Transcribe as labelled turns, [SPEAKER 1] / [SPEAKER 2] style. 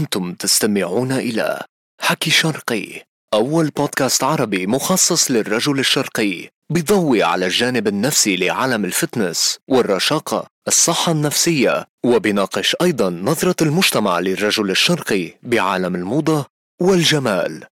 [SPEAKER 1] أنتم تستمعون إلى حكي شرقي، أول بودكاست عربي مخصص للرجل الشرقي، بيضوي على الجانب النفسي لعالم الفتنس والرشاقة، الصحة النفسية، وبيناقش أيضا نظرة المجتمع للرجل الشرقي بعالم الموضة والجمال.